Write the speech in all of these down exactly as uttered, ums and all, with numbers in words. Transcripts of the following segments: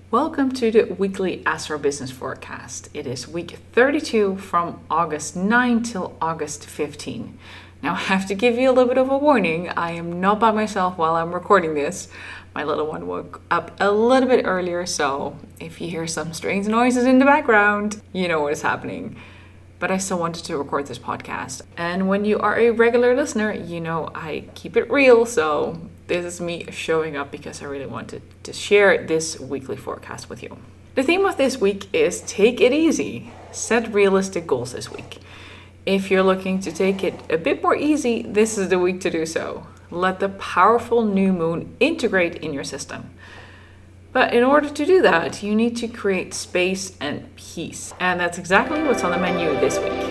Welcome to the weekly Astro Business Forecast. It is week thirty-two from August ninth till August fifteenth. Now I have to give you a little bit of a warning. I am not by myself while I'm recording this. My little one woke up a little bit earlier, so if you hear some strange noises in the background, you know what is happening. But I still wanted to record this podcast. And when you are a regular listener, you know I keep it real, so this is me showing up because I really wanted to share this weekly forecast with you. The theme of this week is take it easy. Set realistic goals this week. If you're looking to take it a bit more easy, this is the week to do so. Let the powerful new moon integrate in your system. But in order to do that, you need to create space and peace. And that's exactly what's on the menu this week.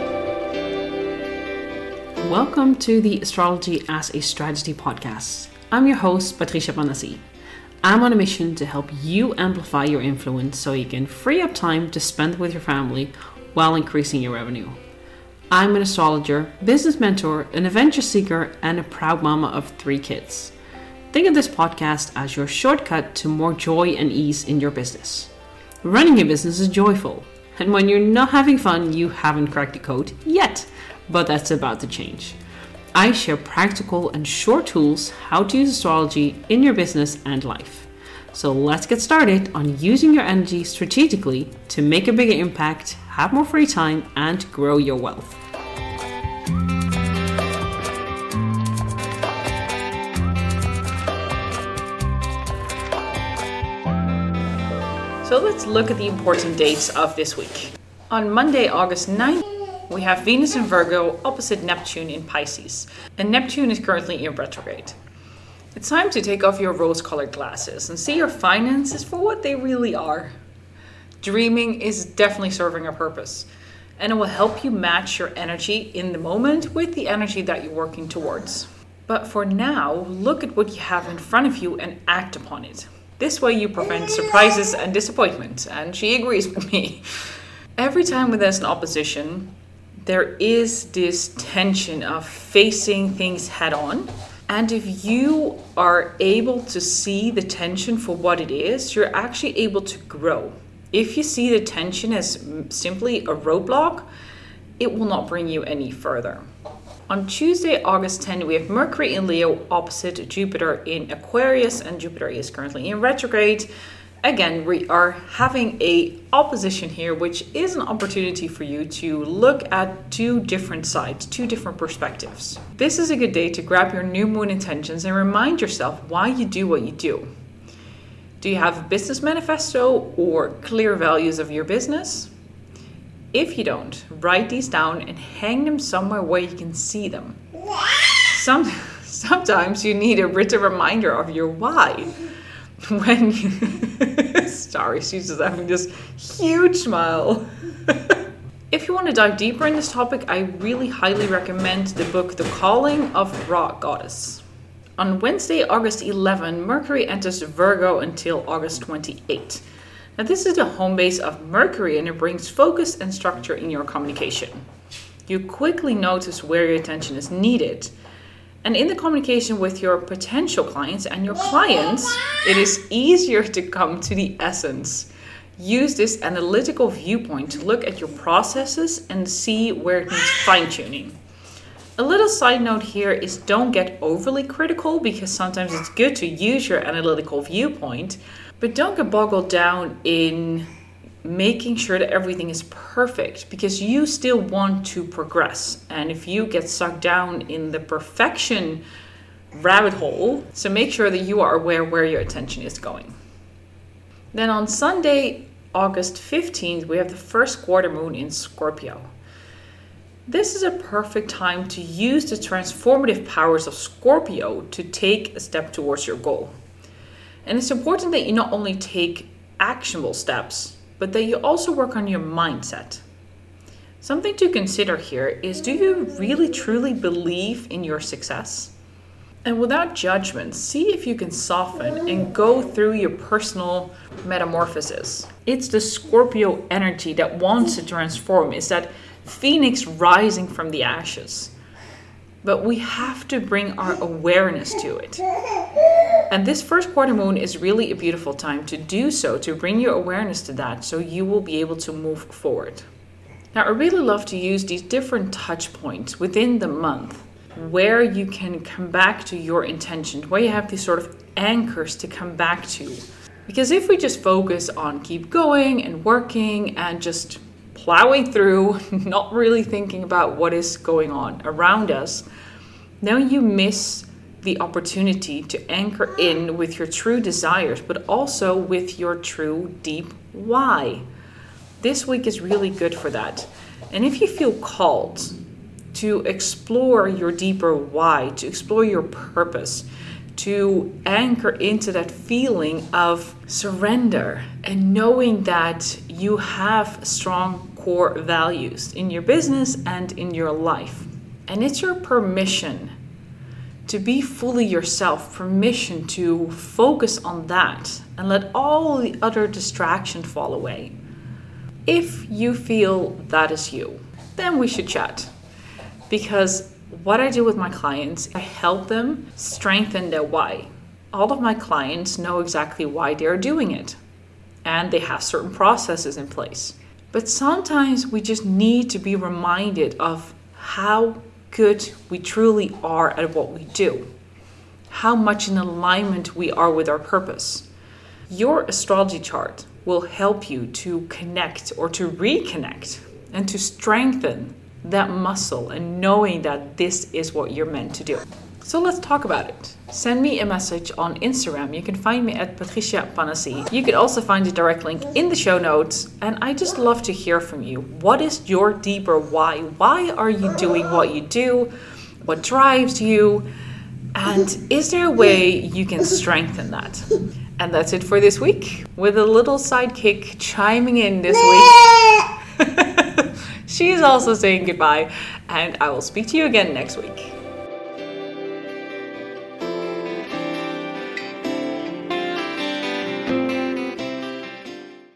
Welcome to the Astrology as a Strategy podcast. I'm your host, Patricia Panasi. I'm on a mission to help you amplify your influence so you can free up time to spend with your family while increasing your revenue. I'm an astrologer, business mentor, an adventure seeker, and a proud mama of three kids. Think of this podcast as your shortcut to more joy and ease in your business. Running your business is joyful, and when you're not having fun, you haven't cracked the code yet, but that's about to change. I share practical and short tools how to use astrology in your business and life. So let's get started on using your energy strategically to make a bigger impact, have more free time, and grow your wealth. So let's look at the important dates of this week. On Monday, August ninth, we have Venus in Virgo opposite Neptune in Pisces, and Neptune is currently in retrograde. It's time to take off your rose-colored glasses and see your finances for what they really are. Dreaming is definitely serving a purpose, and it will help you match your energy in the moment with the energy that you're working towards. But for now, look at what you have in front of you and act upon it. This way you prevent surprises and disappointment, and she agrees with me. Every time there's an opposition, there is this tension of facing things head on. And if you are able to see the tension for what it is, you're actually able to grow. If you see the tension as simply a roadblock, it will not bring you any further. On Tuesday, August tenth, we have Mercury in Leo opposite Jupiter in Aquarius, and Jupiter is currently in retrograde. Again, we are having a opposition here, which is an opportunity for you to look at two different sides, two different perspectives. This is a good day to grab your new moon intentions and remind yourself why you do what you do. Do you have a business manifesto or clear values of your business? If you don't, write these down and hang them somewhere where you can see them. Some, sometimes you need a written reminder of your why. When you... Sorry, she's just having this huge smile. If you want to dive deeper in this topic, I really highly recommend the book The Calling of Ra Goddess. On Wednesday, August eleventh, Mercury enters Virgo until August twenty-eighth. Now this is the home base of Mercury, and it brings focus and structure in your communication. You quickly notice where your attention is needed. And in the communication with your potential clients and your clients, it is easier to come to the essence. Use this analytical viewpoint to look at your processes and see where it needs fine-tuning. A little side note here is don't get overly critical, because sometimes it's good to use your analytical viewpoint, but don't get boggled down in making sure that everything is perfect, because you still want to progress. And if you get sucked down in the perfection rabbit hole, so make sure that you are aware where your attention is going. Then on Sunday, August fifteenth, we have the first quarter moon in Scorpio. This is a perfect time to use the transformative powers of Scorpio to take a step towards your goal. And it's important that you not only take actionable steps, but that you also work on your mindset. Something to consider here is, do you really truly believe in your success? And without judgment, see if you can soften and go through your personal metamorphosis. It's the Scorpio energy that wants to transform. It's that phoenix rising from the ashes. but we have to bring our awareness to it. And this first quarter moon is really a beautiful time to do so, to bring your awareness to that, so you will be able to move forward. Now, I really love to use these different touch points within the month where you can come back to your intention, where you have these sort of anchors to come back to. Because if we just focus on keep going and working and just plowing through, not really thinking about what is going on around us, then you miss the opportunity to anchor in with your true desires, but also with your true deep why. This week is really good for that. And if you feel called to explore your deeper why, to explore your purpose, to anchor into that feeling of surrender and knowing that you have strong core values in your business and in your life. And it's your permission to be fully yourself, permission to focus on that and let all the other distractions fall away. If you feel that is you, then we should chat. Because what I do with my clients, I help them strengthen their why. All of my clients know exactly why they're doing it, and they have certain processes in place. But sometimes we just need to be reminded of how good we truly are at what we do, how much in alignment we are with our purpose. Your astrology chart will help you to connect or to reconnect and to strengthen that muscle and knowing that this is what you're meant to do. So let's talk about it. Send me a message on Instagram. You can find me at Patricia Panassi. You can also find the direct link in the show notes. And I just love to hear from you. What is your deeper why? Why are you doing what you do? What drives you? And is there a way you can strengthen that? And that's it for this week, with a little sidekick chiming in this week. She's also saying goodbye, and I will speak to you again next week.